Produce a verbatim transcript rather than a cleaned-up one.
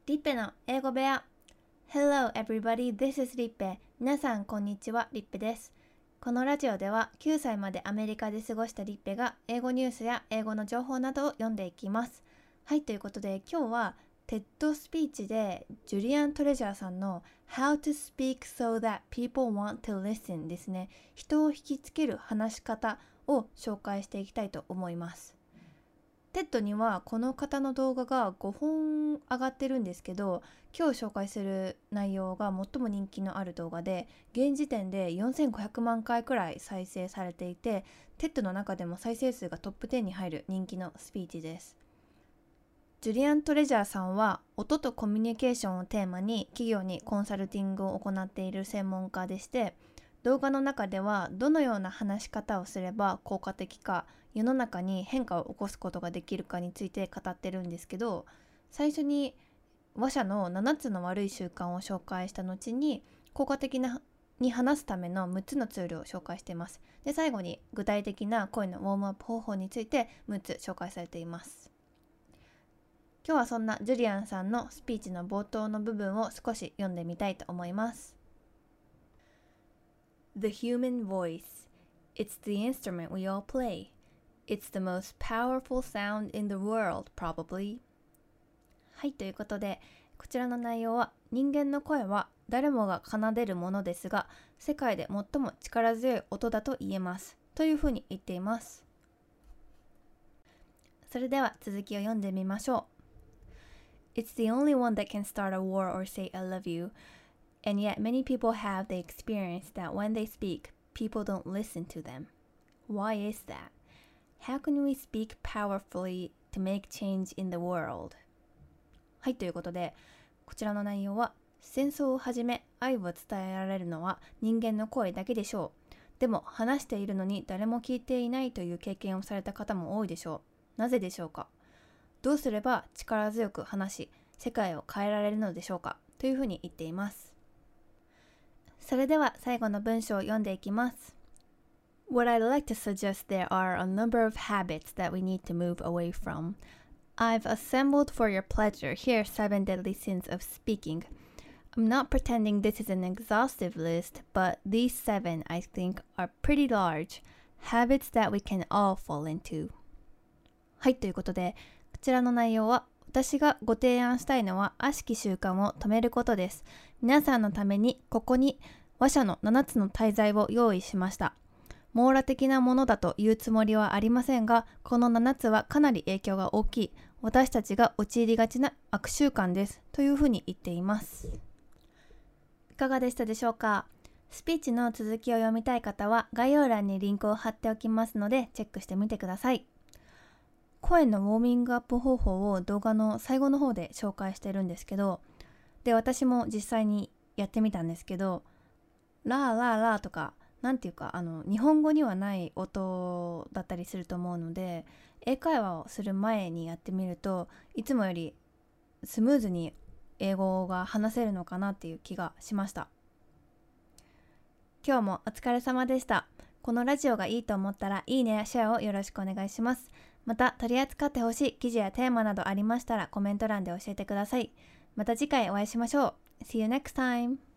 リッペの英語部屋。 Hello everybody, this is リッペ。皆さんこんにちは、リッペです。このラジオではきゅうさいまでアメリカで過ごしたリッペが英語ニュースや英語の情報などを読んでいきます。はい、ということで今日はテッドスピーチでジュリアン・トレジャーさんの How to speak so that people want to listen ですね。人を引きつける話し方を紹介していきたいと思います。テッドにはこの方の動画がごほん上がってるんですけど、今日紹介する内容が最も人気のある動画で、現時点でよんせんごひゃくまんかいくらい再生されていて、テッドの中でも再生数がトップじゅうに入る人気のスピーチです。ジュリアン・トレジャーさんは音とコミュニケーションをテーマに企業にコンサルティングを行っている専門家でして、動画の中ではどのような話し方をすれば効果的か、世の中に変化を起こすことができるかについて語ってるんですけど、最初に話者のななつの悪い習慣を紹介した後に効果的なに話すためのむっつのツールを紹介しています。で、最後に具体的な声のウォームアップ方法についてむっつ紹介されています。今日はそんなジュリアンさんのスピーチの冒頭の部分を少し読んでみたいと思います。The human voice. It's the instrument we all play. It's the most powerful sound in the world, probably. はい、ということで、こちらの内容は、人間の声は誰もが奏でるものですが、世界で最も力強い音だと言えます。というふうに言っています。それでは続きを読んでみましょう。It's the only one that can start a war or say I love you.And yet many people have the experience that when they speak, people don't listen to them. Why is that? How can we speak powerfully to make change in the world? はい、ということで、こちらの内容は、戦争をはじめ愛を伝えられるのは人間の声だけでしょう。でも話しているのに誰も聞いていないという経験をされた方も多いでしょう。なぜでしょうか？どうすれば力強く話し、世界を変えられるのでしょうか？というふうに言っています。それでは最後の文章を読んでいきます。What I'd like to suggest there are a number of habits that we need to move away from. I've assembled for your pleasure here seven deadly sins of speaking. I'm not pretending this is an exhaustive list, but these seven I think are pretty large. Habits that we can all fall into. はい、ということで、こちらの内容は私がご提案したいのは悪しき習慣を止めることです。皆さんのためにここに話者のななつの大罪を用意しました。網羅的なものだというつもりはありませんが、このななつはかなり影響が大きい、私たちが陥りがちな悪習慣ですというふうに言っています。いかがでしたでしょうか？スピーチの続きを読みたい方は概要欄にリンクを貼っておきますのでチェックしてみてください。声のウォーミングアップ方法を動画の最後の方で紹介してるんですけど、で私も実際にやってみたんですけど、ラーラーラーとかなんていうかあの日本語にはない音だったりすると思うので、英会話をする前にやってみるといつもよりスムーズに英語が話せるのかなっていう気がしました。今日もお疲れ様でした。このラジオがいいと思ったらいいねやシェアをよろしくお願いします。また取り扱ってほしい記事やテーマなどありましたらコメント欄で教えてください。また次回お会いしましょう。See you next time!